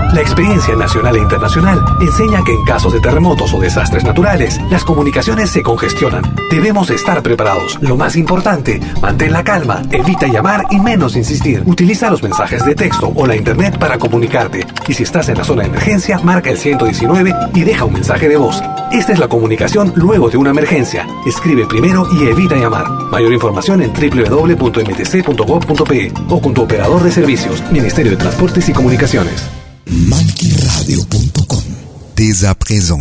La experiencia nacional e internacional enseña que en casos de terremotos o desastres naturales, las comunicaciones se congestionan. Debemos estar preparados. Lo más importante, mantén la calma, evita llamar y menos insistir. Utiliza los mensajes de texto o la internet para comunicarte. Y si estás en la zona de emergencia, marca el 119 y deja un mensaje de voz. Esta es la comunicación luego de una emergencia. Escribe primero y evita llamar. Mayor información en www.mtc.gov.pe o con tu operador de servicios, Ministerio de Transportes y Comunicaciones. malkiradio.com. Dès à présent.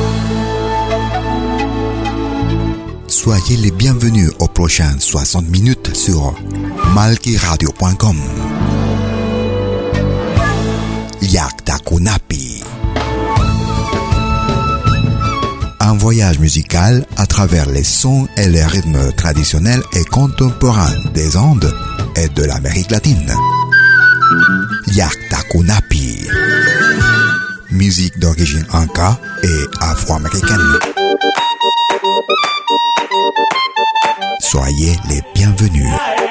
Soyez les bienvenus aux prochaines 60 minutes sur malkiradio.com. Yakta Kunapi. Un voyage musical à travers les sons et les rythmes traditionnels et contemporains des Andes et de l'Amérique latine. Yakta Kunapi. Musique d'origine inca et afro-américaine. Soyez les bienvenus.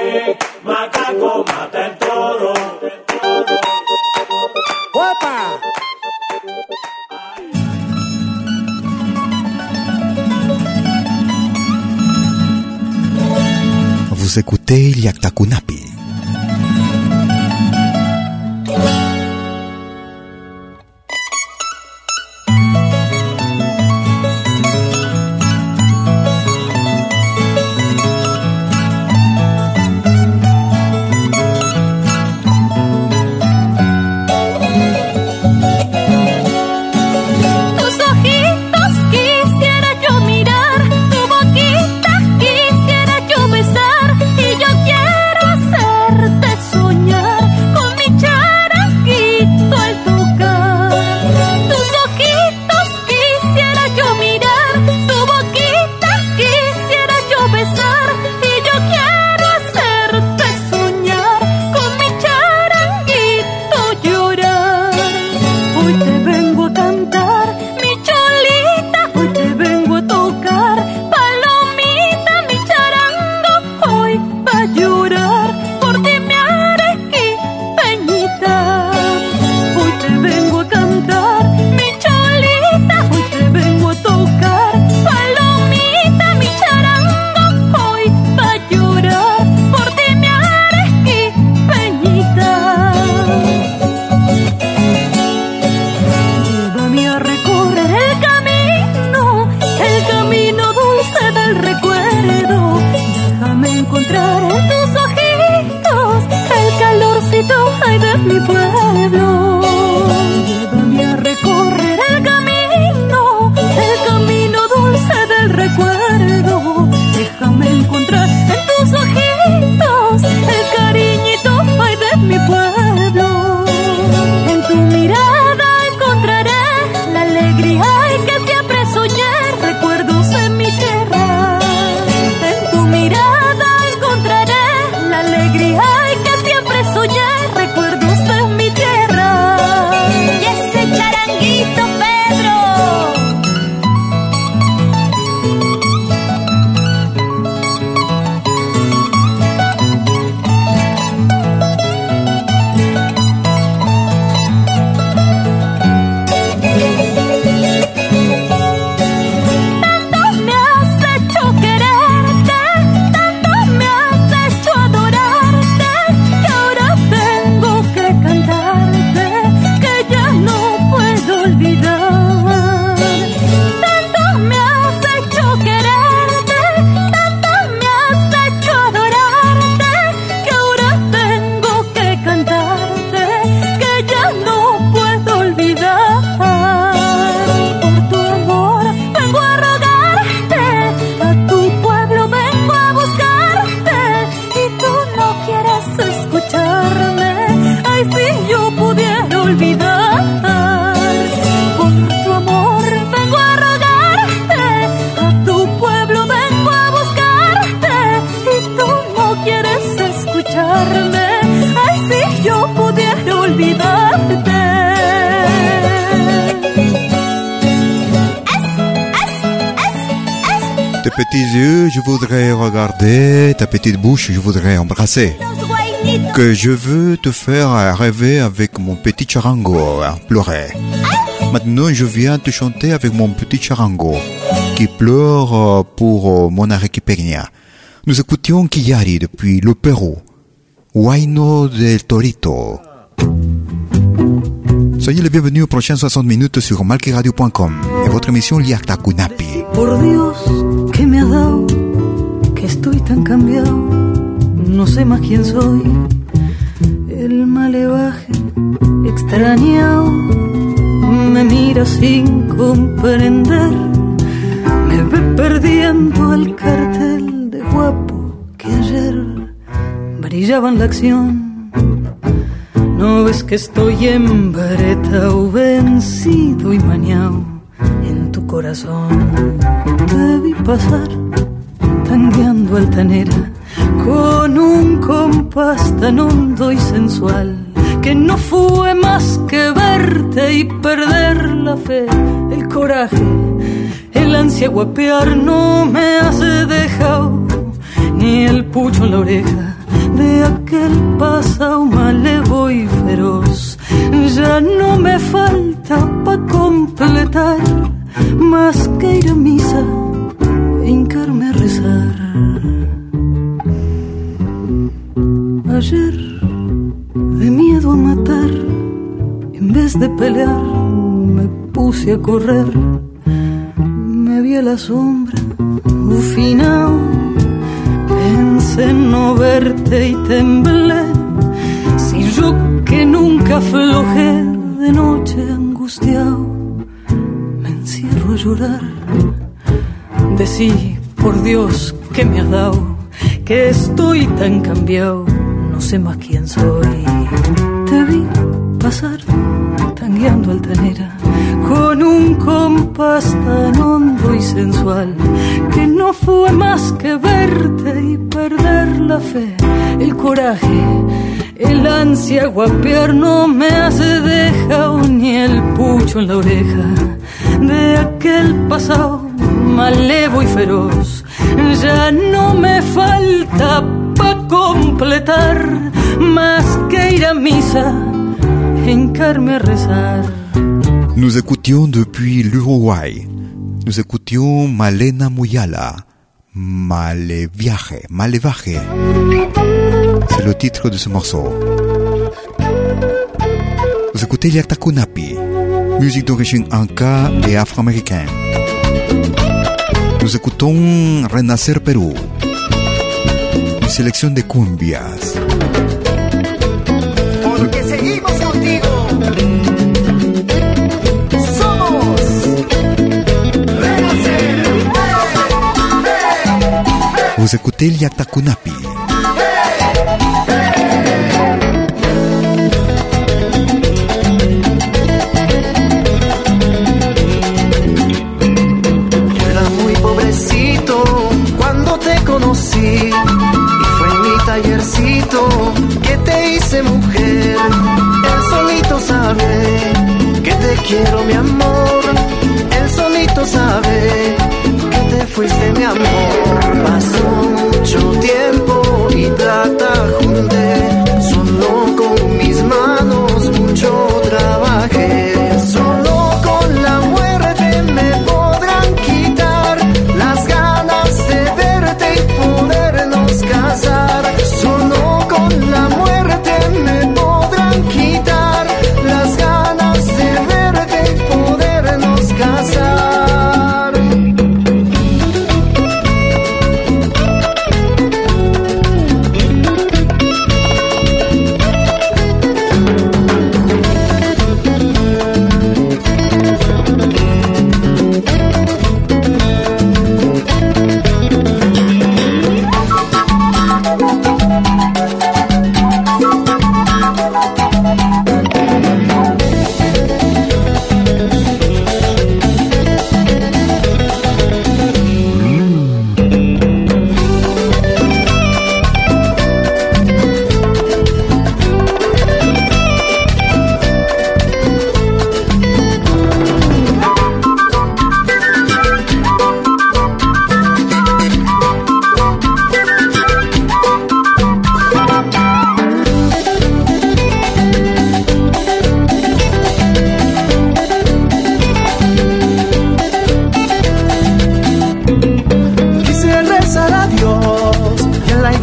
Vous écoutez Yakta Kunapi. Tes petits yeux, je voudrais regarder, ta petite bouche, je voudrais embrasser. que je veux te faire rêver avec mon petit charango, pleurer. Maintenant, je viens te chanter avec mon petit charango qui pleure pour mon arequipeña. Nous écoutions Kiyari depuis le Pérou. Huayno del Torito. Soyez les bienvenus aux prochaines 60 minutes sur malquiradio.com et votre émission Liakta Kunapi. Por Dios, que me ha dado, que estoy tan cambiado, no sé más quién soy. El malevaje extrañado me mira sin comprender, me ve perdiendo el cartel de guapo que ayer brillaba en la acción. No ves que estoy embretado, vencido y maniao en tu corazón. Te vi pasar tangueando altanera con un compás tan hondo y sensual que no fue más que verte y perder la fe, el coraje, el ansia guapear no me hace dejado ni el pucho en la oreja de aquel pasado malevo y feroz. Ya no me falta pa' completar más que ir a misa e hincarme a rezar. Ayer, de miedo a matar, en vez de pelear, me puse a correr. Me vi a la sombra, ufinao. Pensé en no verte y temblé. Si yo que nunca aflojé de noche angustiado, me encierro a llorar. Decí, por Dios, que me has dado, que estoy tan cambiado, no sé más quién soy. Te vi pasar tangueando altanera con un compás tan hondo y sensual que no fue más que verte y perder la fe, el coraje, el ansia guapear no me hace dejao ni el pucho en la oreja de aquel pasado malevo y feroz. Ya no me falta pa' completar más que ir a misa, hincarme a rezar. Nous écoutions depuis l'Uruguay. Nous écoutions Malena Muyala. Malevaje. C'est le titre de ce morceau. Vous écoutez Liakta Kunapi, musique d'origine inca et afro-américaine. Nous écoutons Renacer Perú, une sélection de cumbias. Porque seguimos contigo. Somos Renacer. Vous écoutez Liakta Kunapi. Conocí y fue en mi tallercito que te hice mujer. Él solito sabe que te quiero, mi amor. Él solito sabe que te fuiste, mi amor. Pasó mucho tiempo y plata junté, solo con mis manos mucho trabajé. Solo con la muerte me podrán quitar las ganas de verte y podernos casar. Solo con la muerte me podrán quitar las ganas de verte y podernos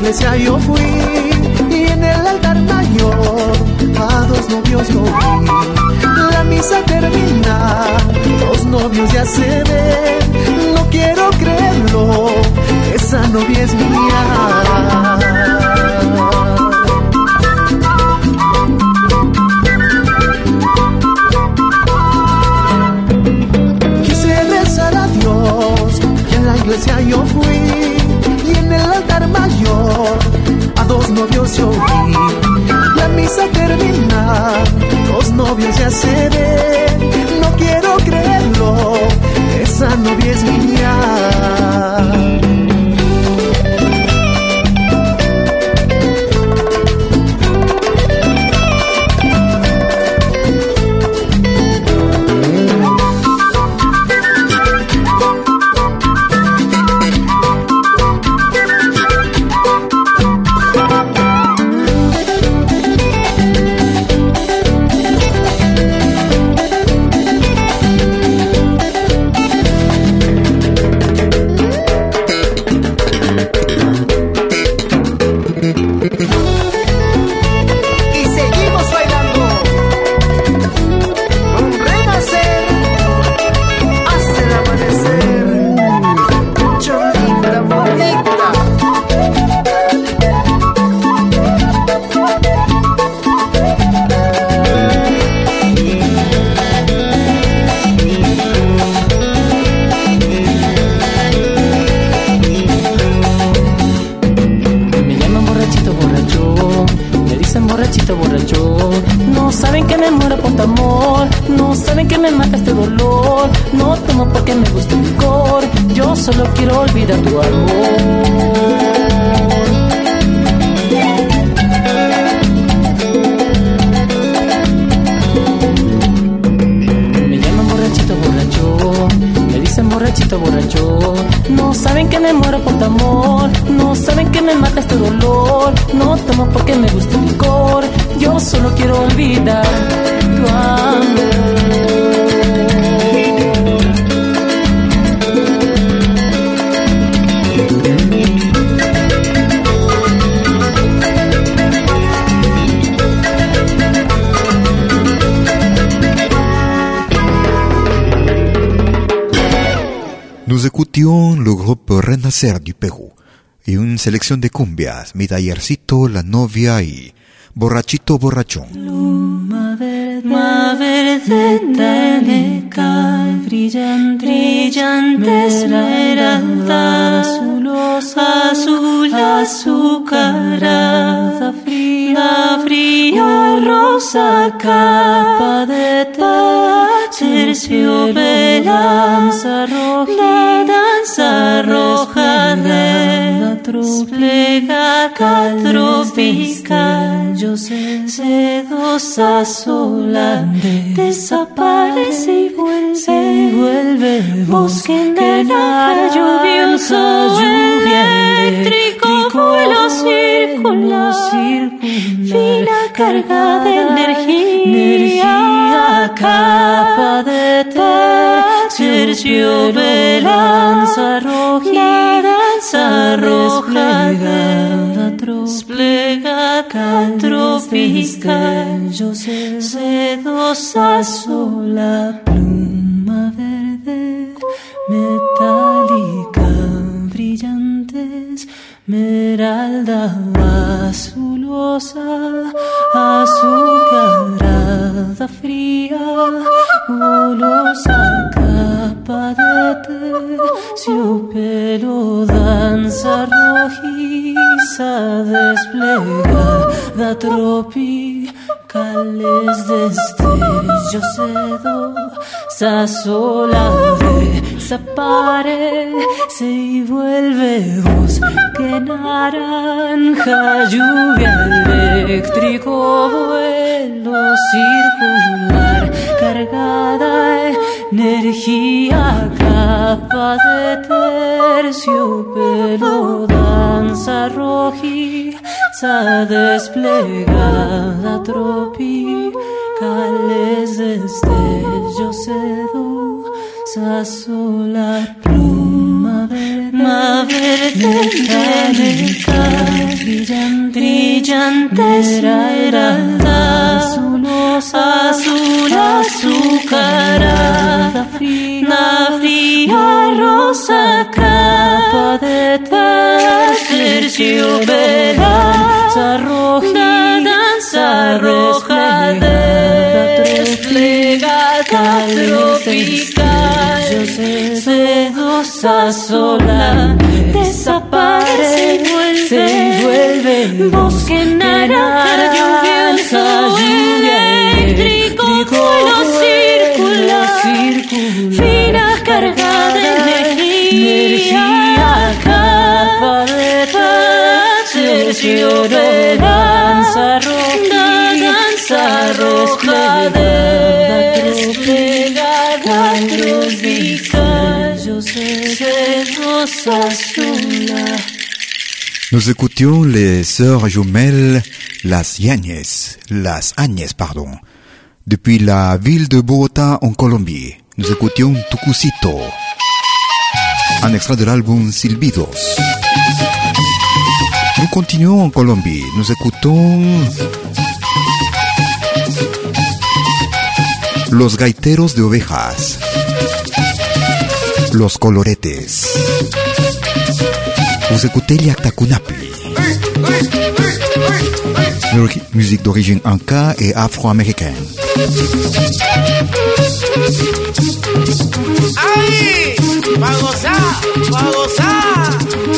iglesia yo fui y en el altar mayor a dos novios yo vi. La misa termina, los novios ya se ven. No quiero creerlo, esa novia es mía. Quise rezar a Dios y en la iglesia yo fui y en el altar mayor a dos novios yo vi. La misa termina, los novios ya se ven. No quiero creerlo, esa novia es mía. No saben que me muero por tu amor, no saben que me mata este dolor. No tomo porque me gusta el licor, yo solo quiero olvidar tu amor. Borrachito, borracho, no saben que me muero por tu amor, no saben que me mata este dolor. No tomo porque me gusta el licor, yo solo quiero olvidar tu amor. Nous écoutions le groupe Renacer du Pérou y une sélection de cumbias, Mi Tallercito, La Novia y Borrachito Borrachón. Luma verde tánica, brillante esmeralda, azul azucarada, fría rosa, capa de terciopelo, danza roja de desplegada tropical, yo sedosa sola, desaparece y vuelve bosque naranja lluvioso, eléctrico, vuelo circular, fina carga de energía, capa de terciopelo, danza roja desplegada tropical, yo sedosa sola, pluma verde metálica, brillante esmeralda, azulosa, azucarada, fría, golosa, capa de terciopelo, danza rojiza, desplegada tropicales, destellos sedosa sola, desaparece y vuelve bosque naranja, lluvia eléctrico, vuelo circular, cargada energía, capa de terciopelo, danza rojiza, desplegada tropicales, destellos sedosa sola, pluma verde brillantes azul azucarada, una fría rosa capa de terciopelo, danza roja desplegada tropical, sedosa sola, desaparece, se vuelve bosque naranja lluvioso, eléctrico, vuelo circular, fina carga de energía, capa de terciopelo, danza roja desplegada tropical, sedosa sola. Nous écoutions les sœurs jumelles, las Áñez, depuis la ville de Bogotá en Colombie. Nous écoutions Tucucito, un extrait de l'album Silbidos. Nous continuons en Colombie. Nous écoutons Los Gaiteros de Ovejas, Los Coloretes. Vous écoutez Liaktakunapi, musique d'origine inca et afro-américaine. ¡Ay! ¡Va a gozar! ¡Va a gozar!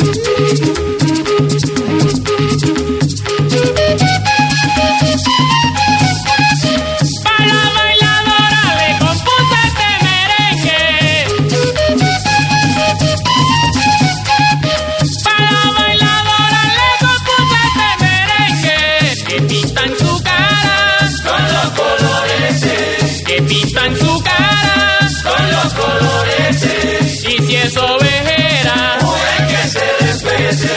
Pintan su cara con los colores, y si es ovejera, pues que se respete.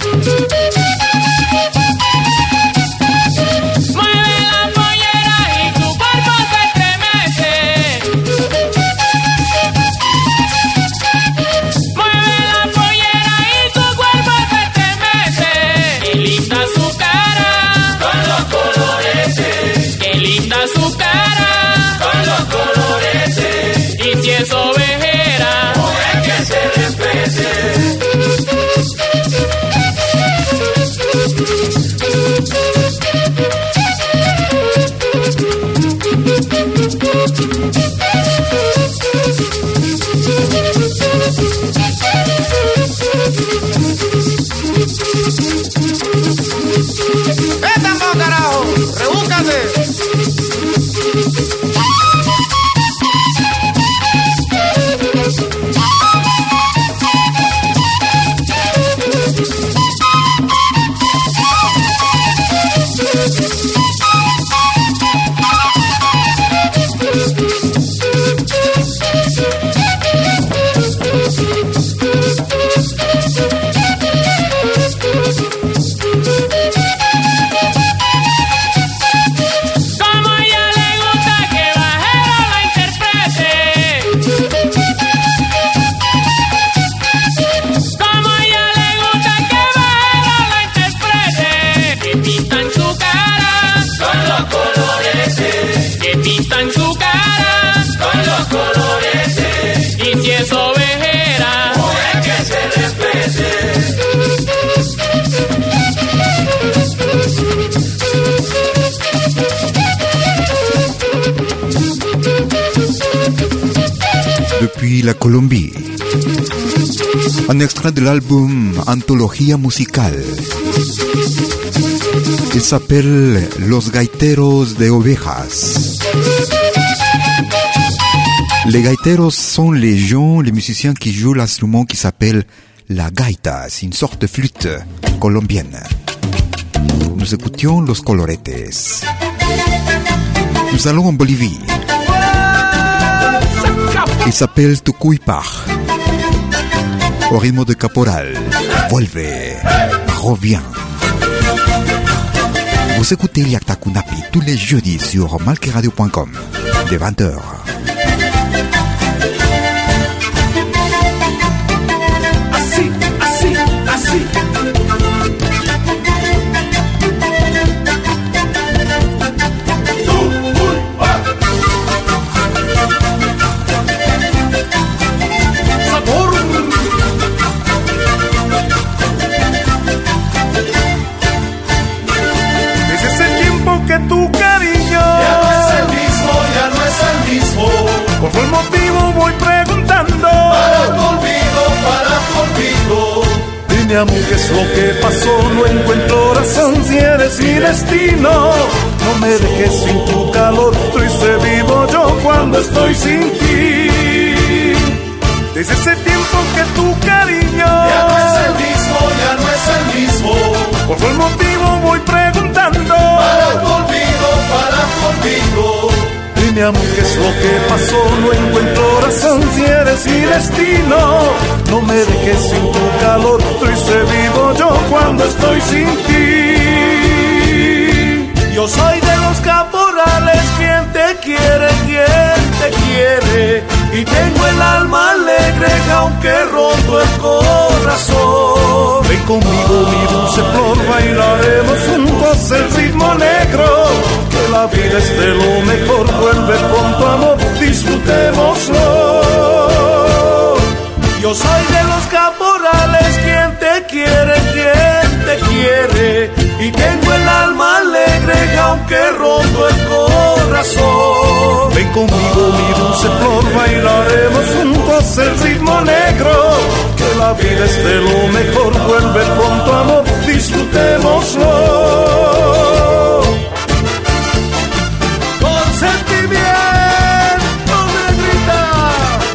Mueve la pollera y Depuis la Colombie. Un extrait de l'album Antología Musical. Il s'appelle Los Gaiteros de Ovejas. Les gaiteros sont les gens, les musiciens qui jouent l'instrument qui s'appelle la gaita. C'est une sorte de flûte colombienne. Nous écoutions Los Coloretes. Nous allons en Bolivie. Il s'appelle Tucuypaj. Au rythme de caporal. Vuelve, reviens. Vous écoutez Liaktakunapi tous les jeudis sur malqueradio.com de 20h. Así, así, así. Por el motivo voy preguntando. Para tu olvido. Dime amor, ¿qué es lo que pasó? No encuentro razón si eres mi destino. No me dejes sin tu calor, triste vivo yo cuando estoy sin ti. Desde ese tiempo que tu cariño ya no es el mismo. Por el motivo voy preguntando. Para tu olvido. Dime amor, ¿qué es lo que pasó? No encuentro razón si eres mi destino. No me dejes sin tu calor, triste vivo yo cuando estoy sin ti. Yo soy de los caporales, quien te quiere. Y tengo el alma alegre, aunque roto el corazón. Ven conmigo, mi dulce flor, bailaremos juntos el ritmo negro. Que la vida es de lo mejor, vuelve pronto amor, disfrutémoslo. Yo soy de los caporales, quien te quiere. Y tengo el alma alegre, aunque roto el corazón. Ven conmigo, mi dulce flor, bailaremos juntos el ritmo negro. Que la vida es de lo mejor, vuelve pronto amor, disfrutémoslo. Con sentimiento de gritar.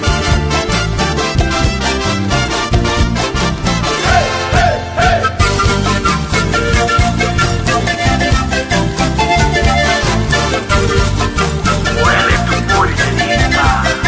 Hey, hey, hey. Huele tu policía.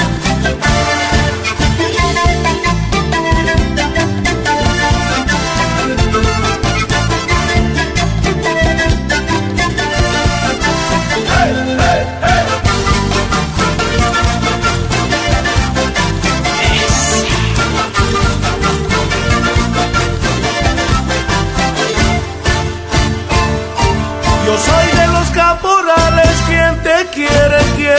Yo soy de los caporales, quien te quiere.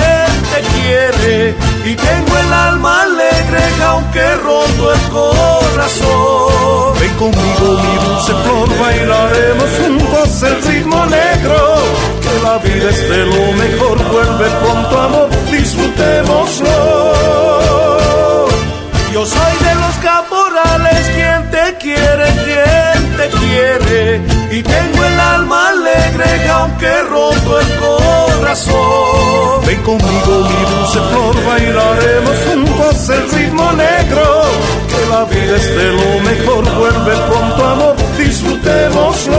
Y tengo el alma alegre, aunque roto el corazón. Ven conmigo, mi dulce flor, bailaremos juntos el ritmo negro. Que la vida es de lo mejor, vuelve pronto amor, disfrutémoslo. Yo soy de los caporales, quien te quiere. Y tengo el alma alegre, aunque roto el corazón. Ven conmigo, mi dulce flor, bailaremos juntos el ritmo negro. Que la vida es de lo mejor, vuelve pronto amor, disfrutémoslo.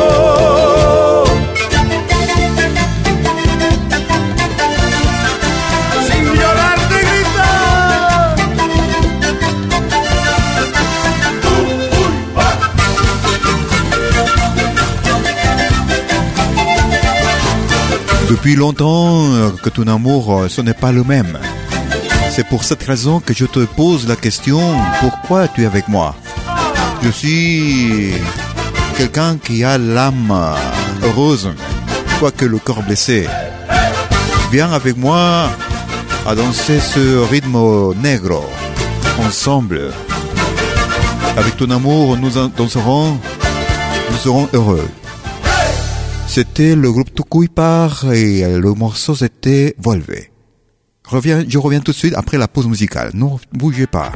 Depuis longtemps que ton amour, ce n'est pas le même. C'est pour cette raison que je te pose la question, pourquoi tu es avec moi? Je suis quelqu'un qui a l'âme heureuse, quoique le corps blessé. Viens avec moi à danser ce rythme négro, ensemble. Avec ton amour, nous danserons, nous serons heureux. C'était le groupe Tucuypaj et le morceau c'était Vuelve. Je reviens tout de suite après la pause musicale. No bougez pas.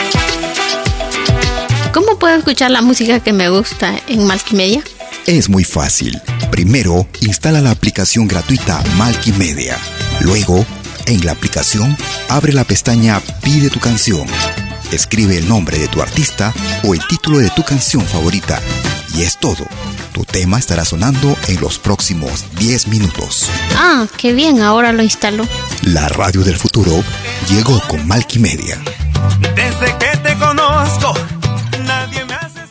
¿Cómo puedo escuchar la música que me gusta en Multimedia? Es muy fácil. Primero, instala la aplicación gratuita Multimedia. Luego, en la aplicación, abre la pestaña Pide tu canción. Escribe el nombre de tu artista o el título de tu canción favorita. Y es todo. Tu tema estará sonando en los próximos 10 minutos. Ah, qué bien, ahora lo instalo. La radio del futuro llegó con Multimedia. Desde que te conozco, nadie me hace...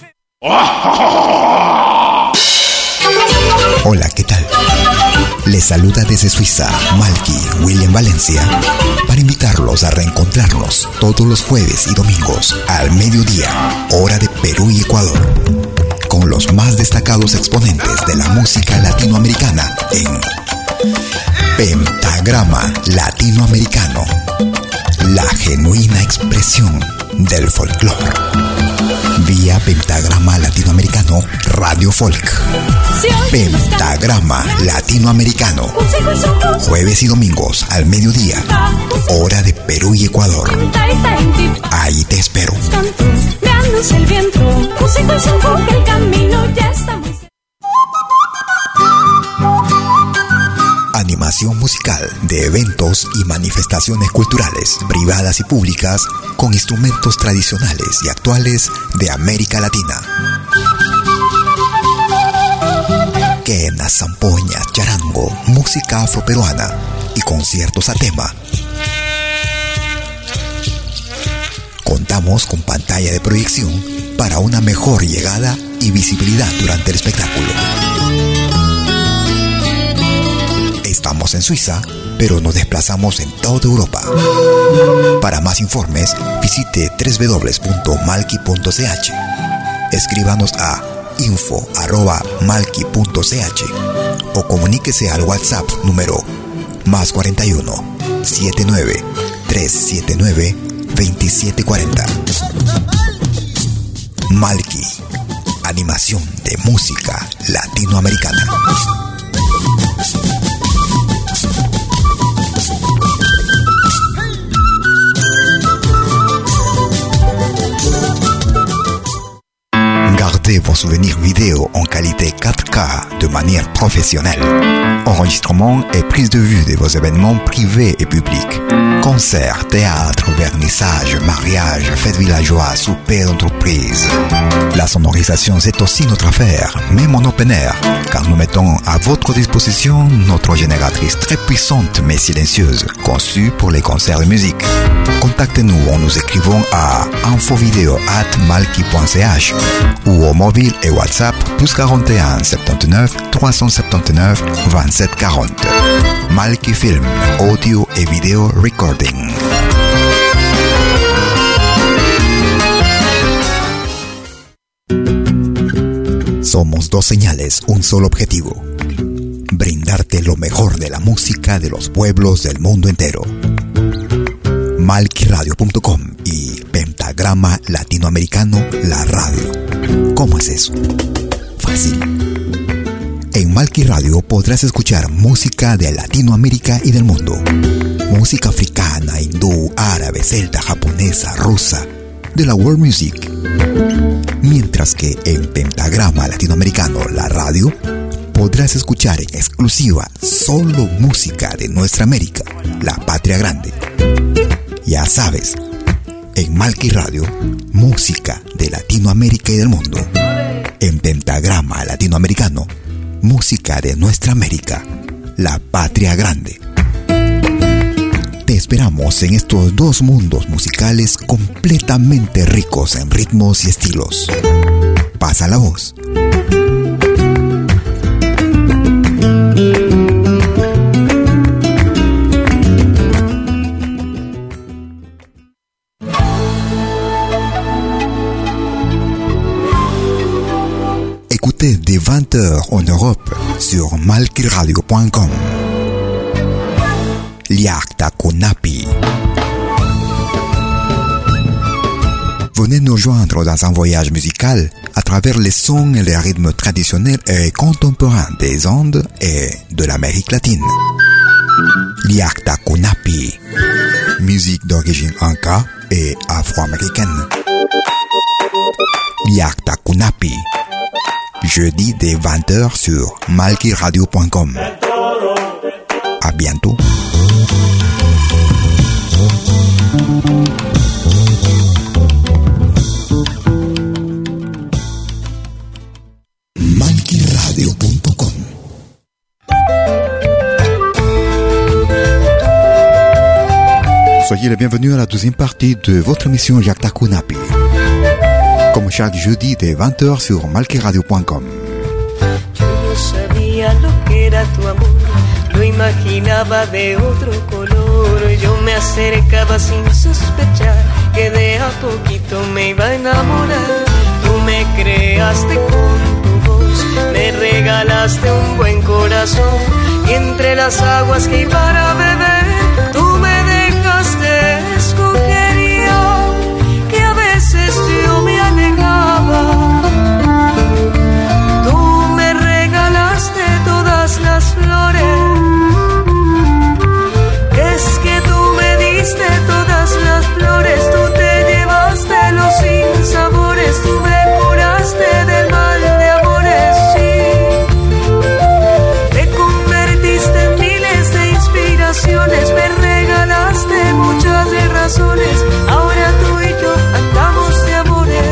Hola, ¿qué tal? Les saluda desde Suiza, Malky William Valencia, para invitarlos a reencontrarnos todos los jueves y domingos al mediodía, hora de Perú y Ecuador, con los más destacados exponentes de la música latinoamericana en Pentagrama Latinoamericano, la genuina expresión del folclore. Vía Pentagrama Latinoamericano Radio Folk. Pentagrama Latinoamericano. Jueves y domingos al mediodía, hora de Perú y Ecuador. Ahí te espero. El viento, músico y son el camino ya está muy... Animación musical de eventos y manifestaciones culturales, privadas y públicas, con instrumentos tradicionales y actuales de América Latina. Quena, zampoña, charango, música afroperuana y conciertos a tema. Contamos con pantalla de proyección para una mejor llegada y visibilidad durante el espectáculo. Estamos en Suiza, pero nos desplazamos en toda Europa. Para más informes, visite www.malky.ch. Escríbanos a info@malky.ch o comuníquese al WhatsApp número +41 79 379 2740. Malky, animación de música latinoamericana. Gardez vos souvenirs vidéo en qualité 4K de manière professionnelle. Enregistrement et prise de vue de vos événements privés et publics. Concerts, théâtre, vernissage, mariage, fêtes villageois, souper d'entreprise. La sonorisation, c'est aussi notre affaire, même en open air, car nous mettons à votre disposition notre génératrice très puissante mais silencieuse, conçue pour les concerts de musique. Contactez-nous en nous écrivant à infovideo@malky.ch ou au mobile et WhatsApp +41 79 379 27 40. Malky Film, audio et vidéo recording. Somos dos señales, un solo objetivo: brindarte lo mejor de la música de los pueblos del mundo entero. malkyradio.com y Pentagrama Latinoamericano, la radio. ¿Cómo es eso? Fácil. En Malky Radio podrás escuchar música de Latinoamérica y del mundo. Música africana, hindú, árabe, celta, japonesa, rusa, de la world music. Mientras que en Pentagrama Latinoamericano, la radio, podrás escuchar en exclusiva solo música de nuestra América, la patria grande. Ya sabes, en Malky Radio, música de Latinoamérica y del mundo. En Pentagrama Latinoamericano, música de nuestra América, la patria grande. Te esperamos en estos dos mundos musicales completamente ricos en ritmos y estilos. Pasa la voz. Écoutez dès 20h en Europe sur malkyradio.com. Liakta Kunapi. Venez nous joindre dans un voyage musical à travers les sons et les rythmes traditionnels et contemporains des Andes et de l'Amérique latine. Liakta Kunapi, musique d'origine inca et afro-américaine. Liakta Kunapi, jeudi dès 20h sur malkiradio.com. À bientôt. malkiradio.com. Soyez les bienvenus à la deuxième partie de votre émission Liakta Kunapi. Como chaque jeudi de 20h sur malkiradio.com. Yo no sabía lo que era tu amor, lo imaginaba de otro color. Yo me acercaba sin sospechar que de a poquito me iba a enamorar. Tú me creaste con tu voz, me regalaste un buen corazón. Y entre las aguas que para beber, tú me dejaste escoger yo, que a veces yo me alejaba. Tú me regalaste todas las flores, es que tú me diste todas las flores. Tú te llevaste los sinsabores, tú me curaste del mal de amores, sí. Te convertiste en miles de inspiraciones, me regalaste muchas razones. Ahora tú y yo andamos de amores.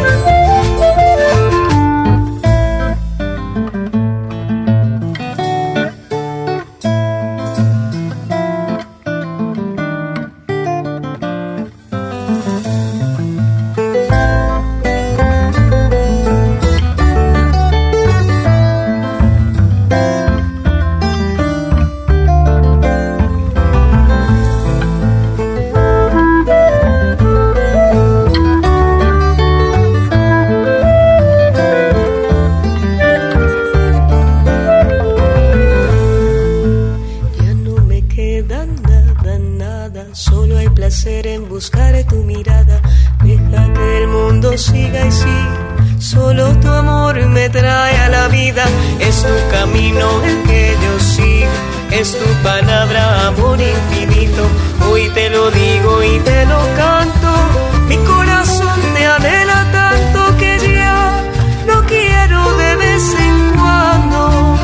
En buscar tu mirada, deja que el mundo siga y siga. Solo tu amor me trae a la vida. Es tu camino el que yo sigo, es tu palabra, amor infinito. Hoy te lo digo y te lo canto. Mi corazón te anhela tanto que ya no quiero de vez en cuando.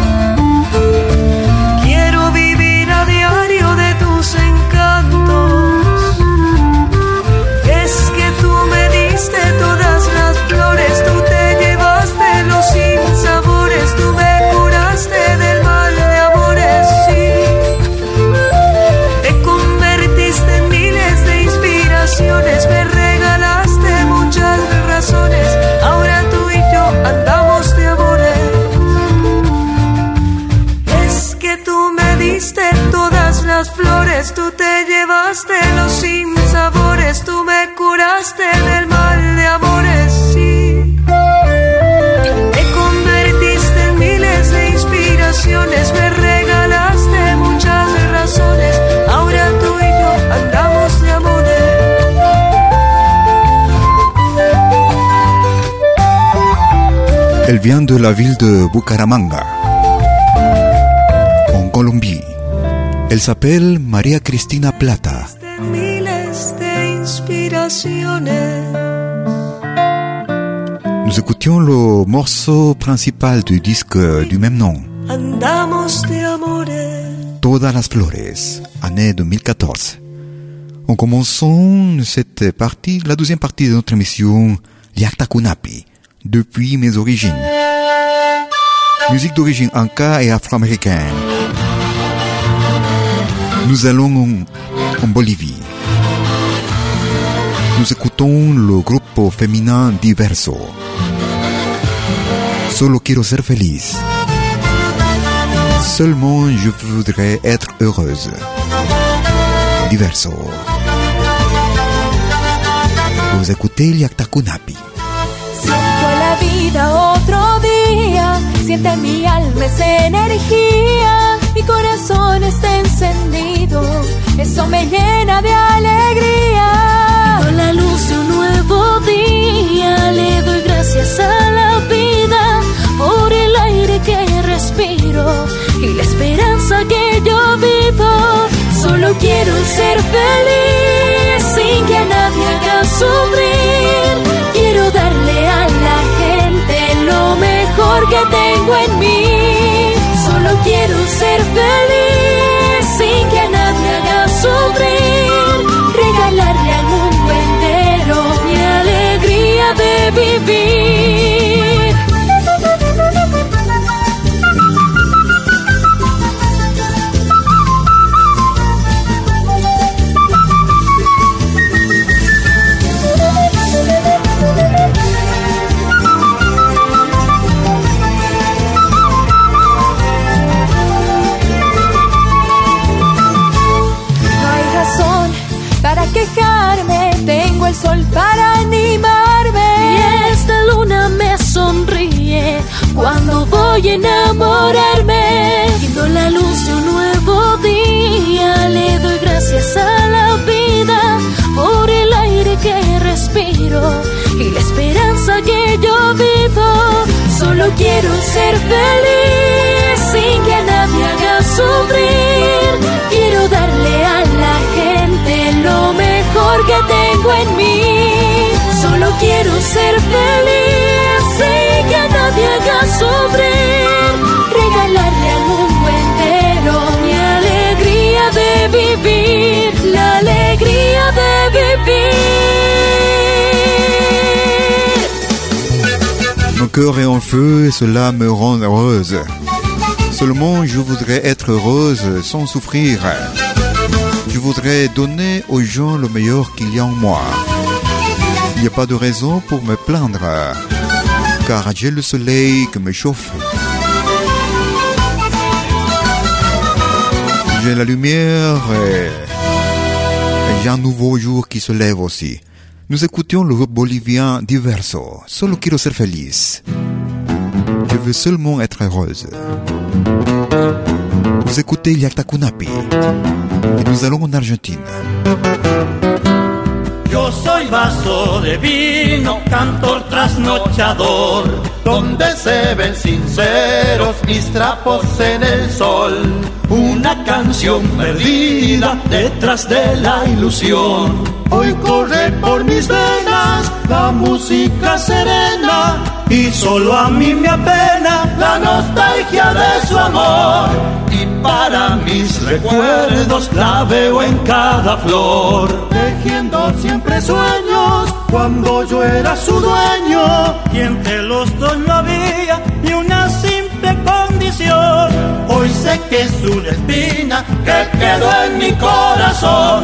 Quiero vivir a diario de tus encantos. Todas las flores, tú te llevaste los sinsabores, tú me curaste del mal de amores, sí. Te convertiste en miles de inspiraciones, me regalaste muchas razones. Ahora tú y yo andamos de amores. Es que tú me diste todas las flores, tú te llevaste los sinsabores, tú me curaste del mal de amores, sí. Te convertiste en miles de inspiraciones, me regalaste muchas razones. Ahora tú y yo andamos de amores. Elle vient de la ville de Bucaramanga, en Colombie. Elle s'appelle María Cristina Plata. Nous écoutions le morceau principal du disque du même nom, Todas las Flores, année 2014. En commençant cette partie, la deuxième partie de notre émission Liakta Kunapi, depuis mes origines. Musique d'origine inca et afro-américaine. Nous allons en Bolivie. Nous écoutons le groupe féminin Diverso. Solo quiero ser feliz. Seulement je voudrais être heureuse. Diverso. Vous écoutez Liakta Kunapi. Siento la vida otro día, siente mi alma esa energía, mi corazón está encendido, eso me llena de alegría. Con la luz de un nuevo día, le doy gracias a la vida por el aire que respiro y la esperanza que yo vivo. Solo quiero ser feliz sin que a nadie haga sufrir. Quiero darle a la gente lo mejor que tengo en mí. Solo quiero ser feliz sin que a nadie haga sufrir. Regalarle al mundo entero mi alegría de vivir. Quejarme, tengo el sol para animarme y esta luna me sonríe cuando voy a enamorarme. Viendo la luz de un nuevo día, le doy gracias a la vida por el aire que respiro y la esperanza que yo vivo. Solo quiero ser feliz sin que a nadie haga sufrir. Quiero darle a la gente lo mejor que tengo en mí. Solo quiero ser feliz sin que a nadie haga sufrir. Regalarle al mundo entero mi alegría de vivir. La alegría de vivir. Mon cœur est en feu et cela me rend heureuse. Seulement je voudrais être heureuse sans souffrir. Je voudrais donner aux gens le meilleur qu'il y a en moi. Il n'y a pas de raison pour me plaindre, car j'ai le soleil qui me chauffe. J'ai la lumière et j'ai un nouveau jour qui se lève aussi. Nous écoutions le groupe bolivien Diverso. Solo quiero ser feliz. Je veux seulement être heureuse. Vous écoutez Iliacta Kunapi. Y nous allons en Argentina. Yo soy vaso de vino, cantor trasnochador, donde se ven sinceros mis trapos en el sol. Una canción perdida detrás de la ilusión. Hoy corre por mis venas la música serena y solo a mí me apena la nostalgia de su amor. Y para mis recuerdos la veo en cada flor, tejiendo siempre sueños cuando yo era su dueño. Y entre los dos no había ni una simple condición. Hoy sé que es una espina que quedó en mi corazón.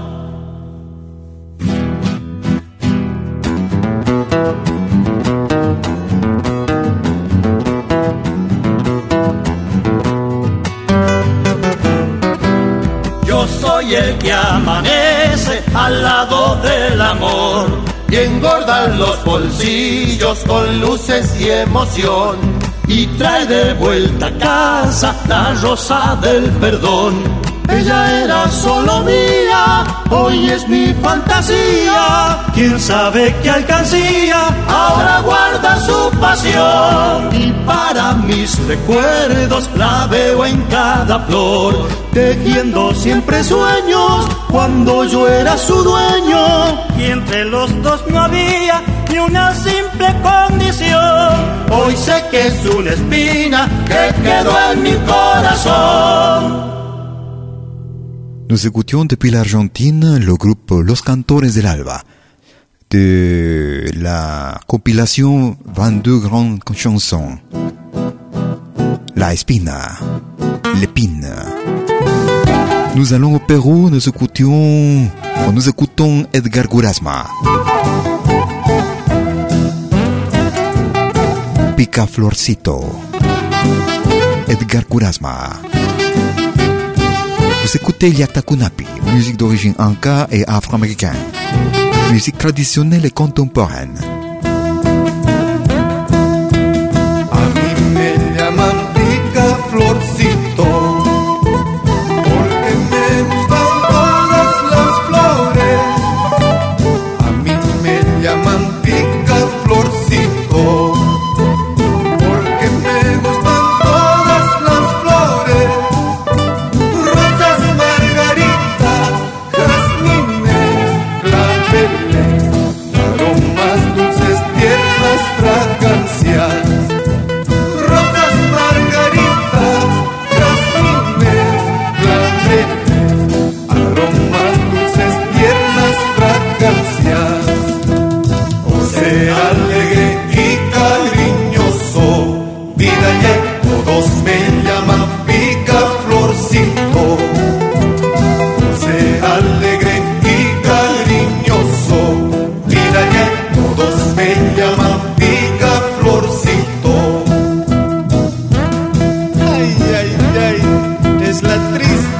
Soy el que amanece al lado del amor y engorda los bolsillos con luces y emoción y trae de vuelta a casa la rosa del perdón. Ella era solo mía, hoy es mi fantasía. Quién sabe qué alcancía, ahora guarda su pasión. Y para mis recuerdos la veo en cada flor, tejiendo siempre sueños cuando yo era su dueño. Y entre los dos no había ni una simple condición. Hoy sé que es una espina que quedó en mi corazón. Nous écoutions depuis l'Argentine le groupe Los Cantores del Alba, de la compilation 22 grandes chansons. La Espina, l'épine. Nous allons au Pérou, nous écoutons Edgar Gurasma. Picaflorcito. Edgar Gurasma. Vous écoutez Iliacta Kunapi, musique d'origine inca et afro-américaine, musique traditionnelle et contemporaine. A mí me llaman Picaflorcito, porque me gustan todas las flores. A mí me llaman Picaflorcito, porque me gustan todas las flores. Rosas, margaritas,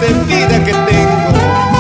de vida que tengo.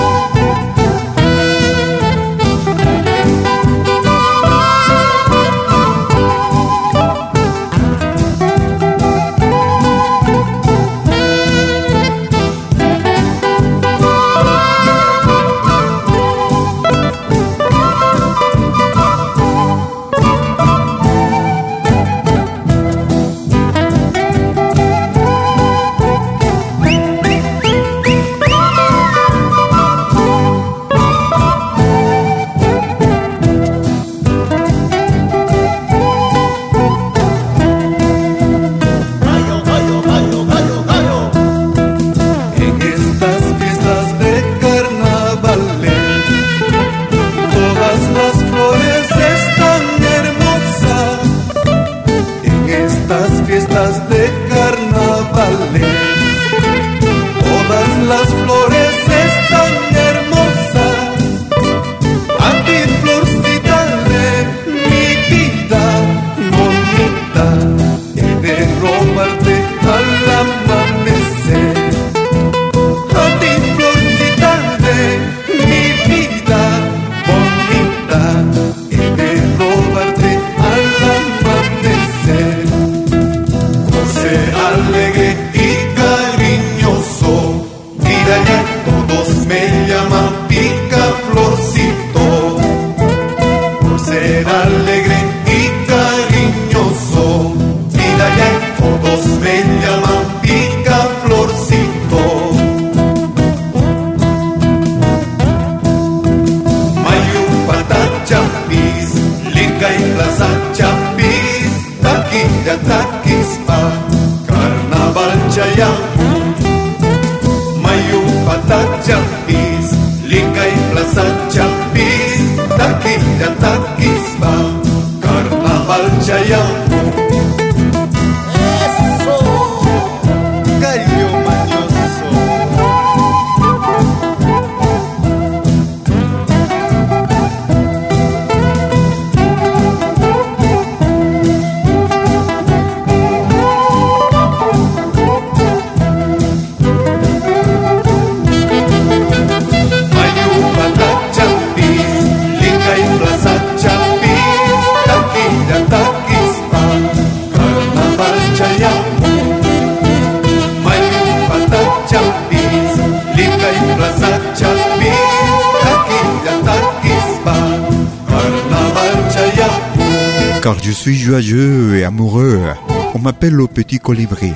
Car je suis joyeux et amoureux, on m'appelle le petit colibri.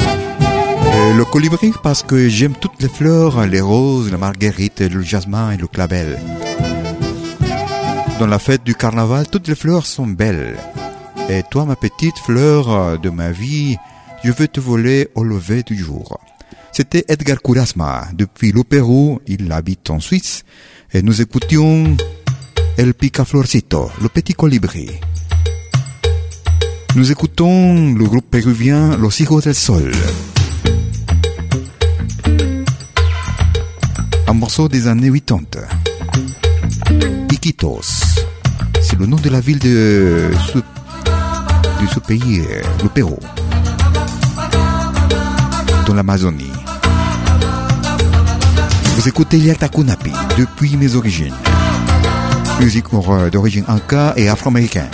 Le colibri parce que j'aime toutes les fleurs, les roses, la marguerite, le jasmin et le clavel. Dans la fête du carnaval, toutes les fleurs sont belles. Et toi, ma petite fleur de ma vie, je veux te voler au lever du jour. C'était Edgar Kurasma. Depuis le Pérou, il habite en Suisse. Et nous écoutions El Picaflorcito, le petit colibri. Nous écoutons le groupe péruvien Los Hijos del Sol. Un morceau des années 80. Iquitos. C'est le nom de la ville de ce pays, le Pérou. Dans l'Amazonie. Vous écoutez Yalta Kunapi depuis mes origines. Musique d'origine inca et afro-américaine.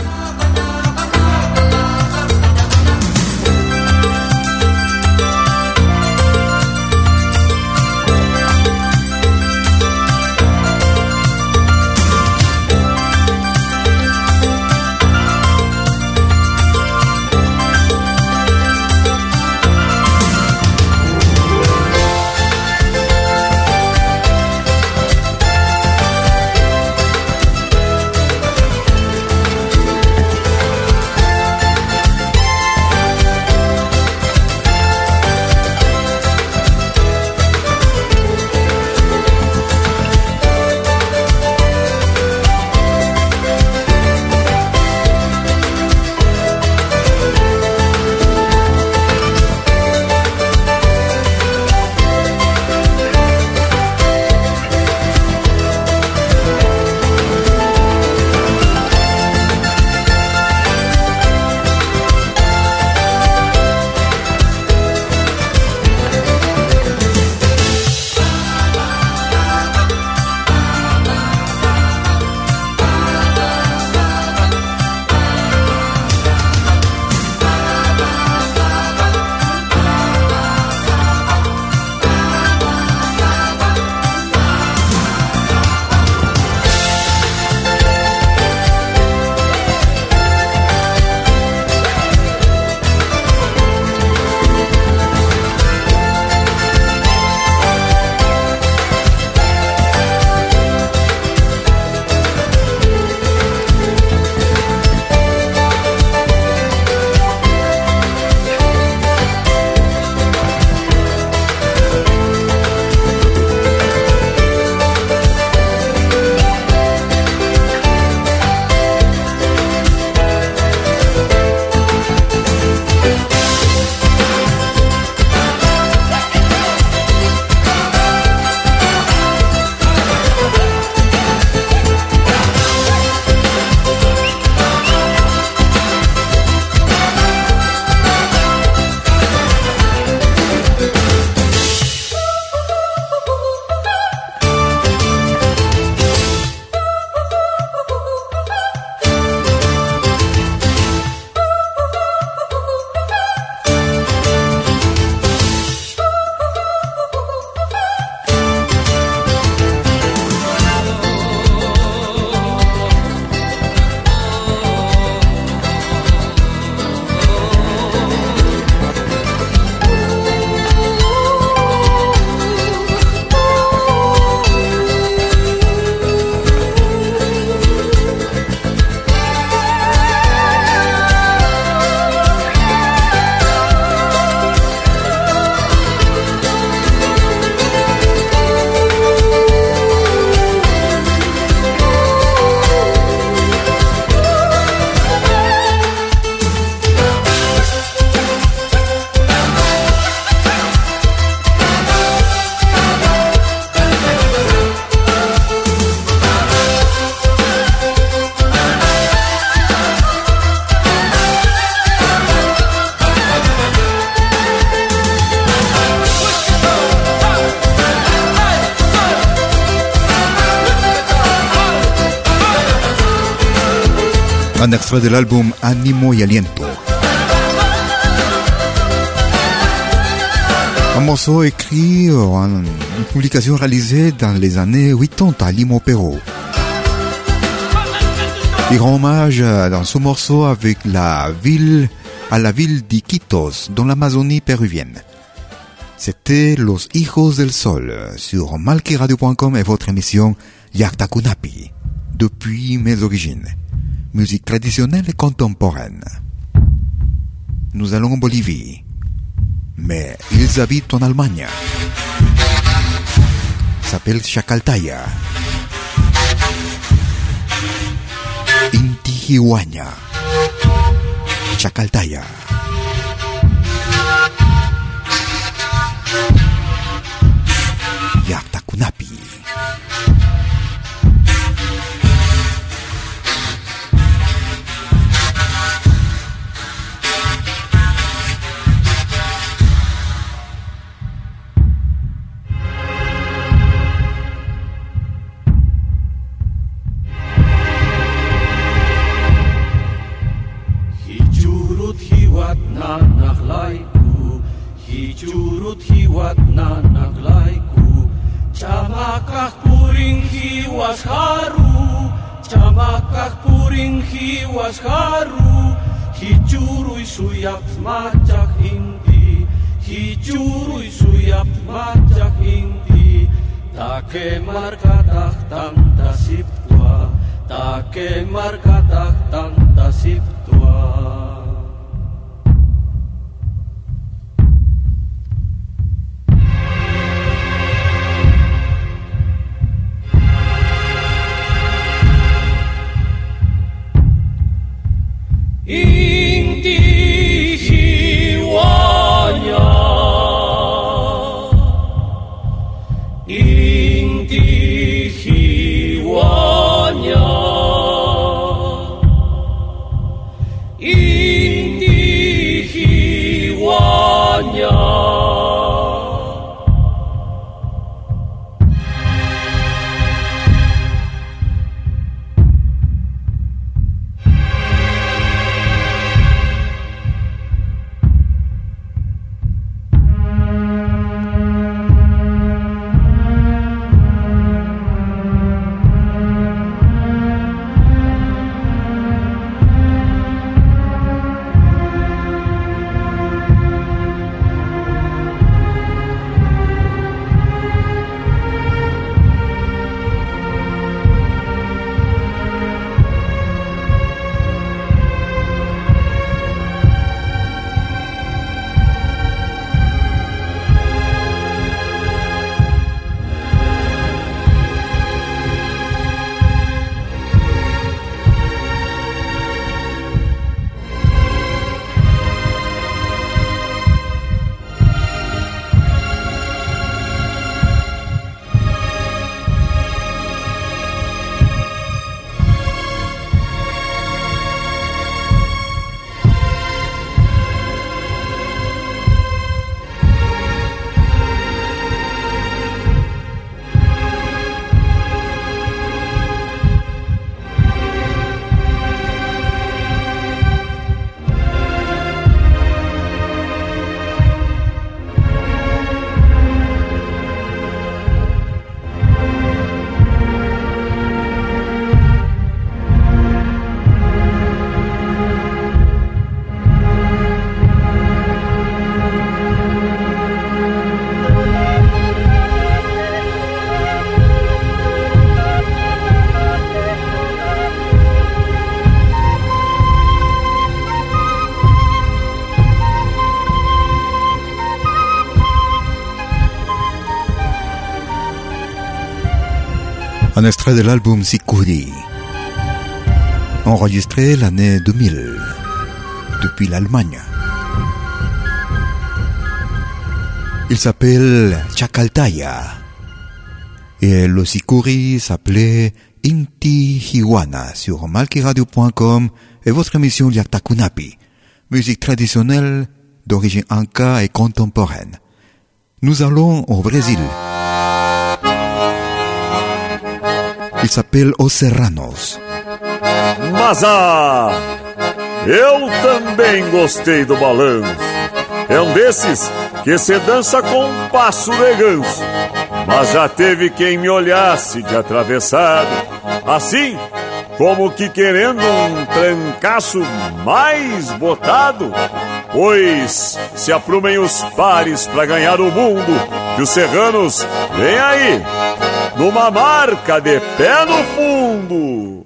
Un extrait de l'album Ánimo y Aliento. Un morceau écrit, une publication réalisée dans les années 80 à Lima, Pérou. Il rend hommage dans ce morceau avec à la ville d'Iquitos, dans l'Amazonie péruvienne. C'était Los Hijos del Sol sur malquiradio.com et votre émission Yaktakunapi, depuis mes origines. Musique traditionnelle et contemporaine. Nous allons en Bolivie, mais ils habitent en Allemagne. S'appelle Chacaltaya. Inti Huayna. Chacaltaya. Yaktakunapi. Hichurut hiwat nanaglaiku, chamakah puring hiwas haru, chamakah puring hiwas haru, hichurui suyap macak inti, hichurui suyap macak inti, take markatah tanta siptua, take markatah tanta siptua. Inti hiwanya, inti hiwanya, inti hiwanya. Un extrait de l'album Sikuri, enregistré l'année 2000, depuis l'Allemagne. Il s'appelle Chacaltaya, et le Sikuri s'appelait Inti Hiwana sur malquiradio.com et votre émission Yaktakunapi, musique traditionnelle d'origine inca et contemporaine. Nous allons au Brésil. Il s'appelle Os Serranos. Mas eu também gostei do balanço. É um desses que se dança com um passo de ganso. Mas já teve quem me olhasse de atravessado, assim como que querendo um trancaço mais botado. Pois se aprumem os pares pra ganhar o mundo, que os serranos vêm aí, numa marca de pé no fundo.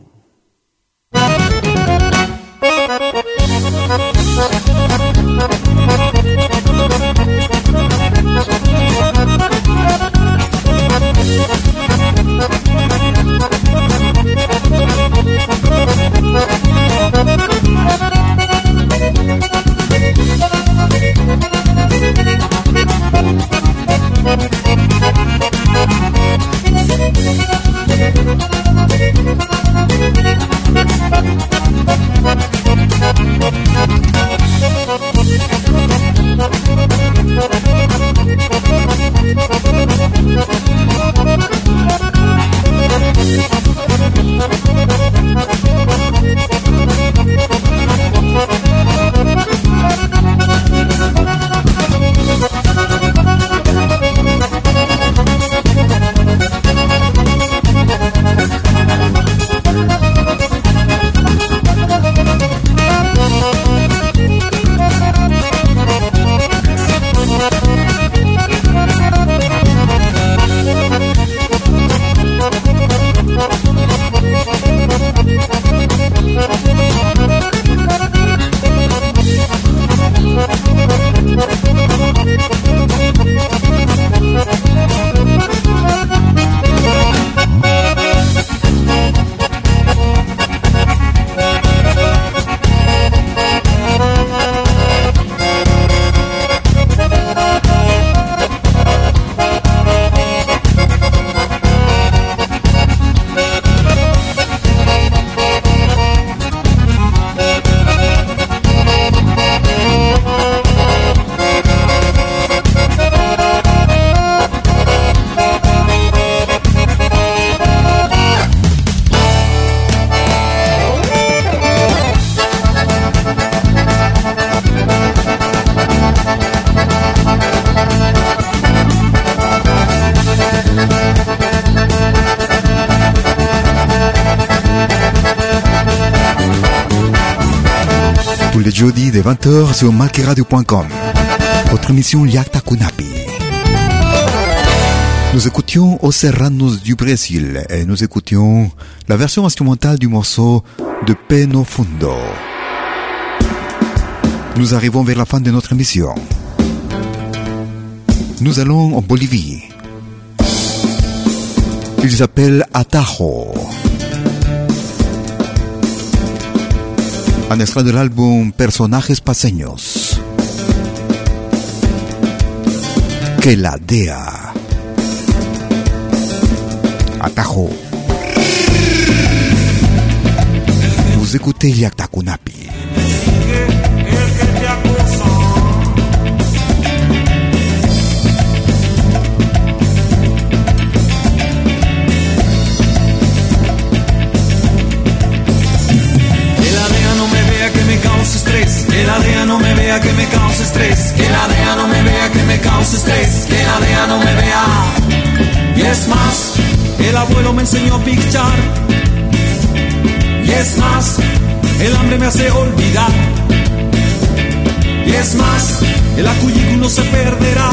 Le jeudi de 20h sur malqueradio.com. Votre émission Yakta Kunapi. Nous écoutions Os Serranos du Brésil et nous écoutions la version instrumentale du morceau de Pé no Fundo. Nous arrivons vers la fin de notre émission. Nous allons en Bolivie. Il s'appelle Atajo. Un extrait de l'album Personajes Paseños. Que la DEA. Atajo. Vous écoutez Yakta Kunapi. Que la DEA no me vea que me cause estrés, que la DEA no me vea que me cause estrés, que la DEA no me vea. Y es más, el abuelo me enseñó a pichar. Y es más, el hambre me hace olvidar. Y es más, el acuyico no se perderá.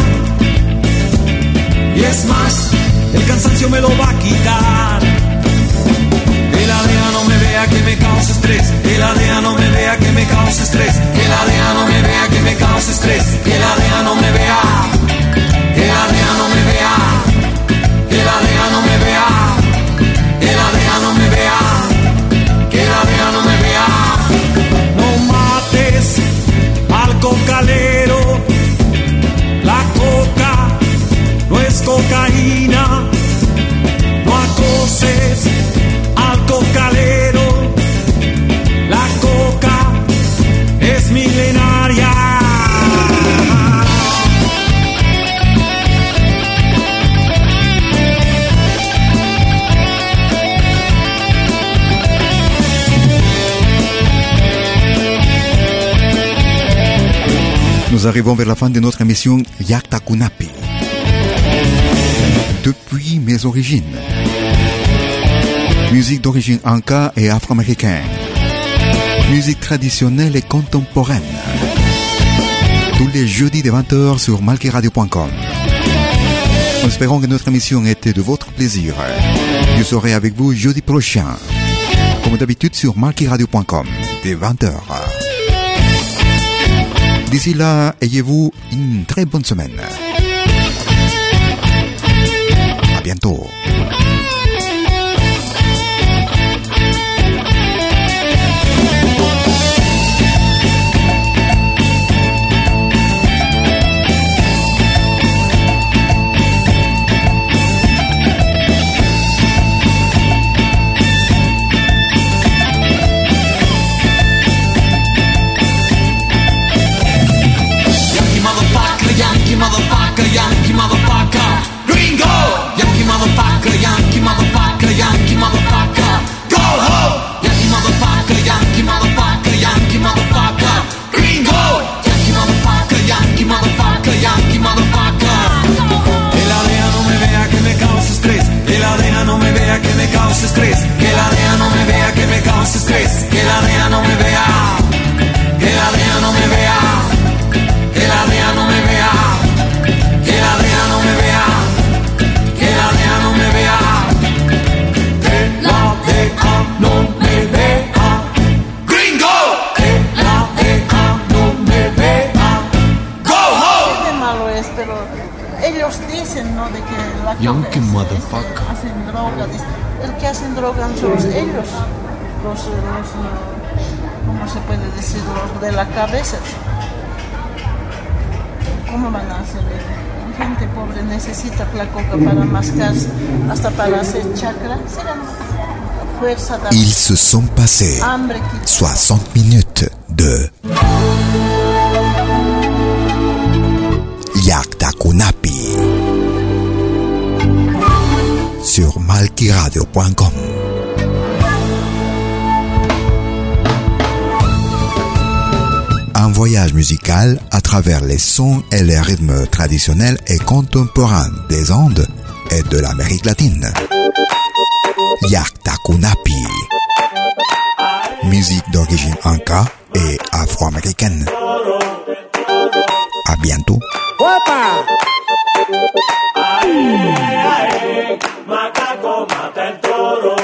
Y es más, el cansancio me lo va a quitar. Que la DEA no me vea que me cause estrés, que la DEA no me vea que me cause estrés, que la DEA no me vea que me cause estrés, que la DEA no me vea, que la DEA no me vea, que la DEA no me vea, que la DEA no me vea, que la DEA no me vea. No mates al cocalero, la coca no es cocaína, no acoses al cocalero, la coca es milenaria. Nous arrivons vers la fin de notre émission Yakta Kunapi. Depuis mes origines. Musique d'origine anka et afro-américaine. Musique traditionnelle et contemporaine. Tous les jeudis de 20h sur malkiradio.com. Nous espérons que notre émission était de votre plaisir. Je serai avec vous jeudi prochain, comme d'habitude sur malkiradio.com, dès 20h. D'ici là, ayez-vous une très bonne semaine. À bientôt. Yankee motherfucker, gringo. Yankee motherfucker, Yankee motherfucker, Yankee motherfucker, go ho. Yankee motherfucker, Yankee motherfucker, Yankee motherfucker, gringo. Yankee motherfucker, Yankee motherfucker, Yankee motherfucker. Que la DEA no me vea que me cause estrés. Que la DEA no me vea que me cause estrés. Que la DEA no me vea que me cause estrés. Que la DEA no me vea. Que la DEA no me vea. Que la DEA no me vea. Que la DEA no me vea, que la DEA no me vea, que la DEA no me vea, gringo, que la DEA no me vea, go home. Qué malo es, pero ellos dicen, ¿no? De que la Yankee motherfucker. Hacen droga, el que hacen droga son ellos, los ¿cómo se puede decir? Los de la cabeza. ¿Cómo van a hacer eso? Gente pobre necesita la coca para mascar, hasta para hacer chakra. Fuerza de... Ils se sont passés 60 minutes de Yakta Kunapi sur malkiradio.com. Un voyage musical à travers les sons et les rythmes traditionnels et contemporains des Andes et de l'Amérique latine. Yakta Kunapi. Musique d'origine inca et afro-américaine. À bientôt. Macaco mata el toro.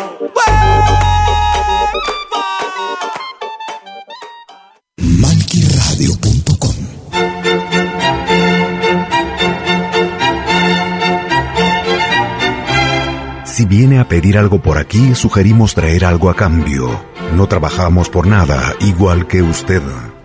malkiradio.com. Si viene a pedir algo por aquí, sugerimos traer algo a cambio. No trabajamos por nada, igual que usted.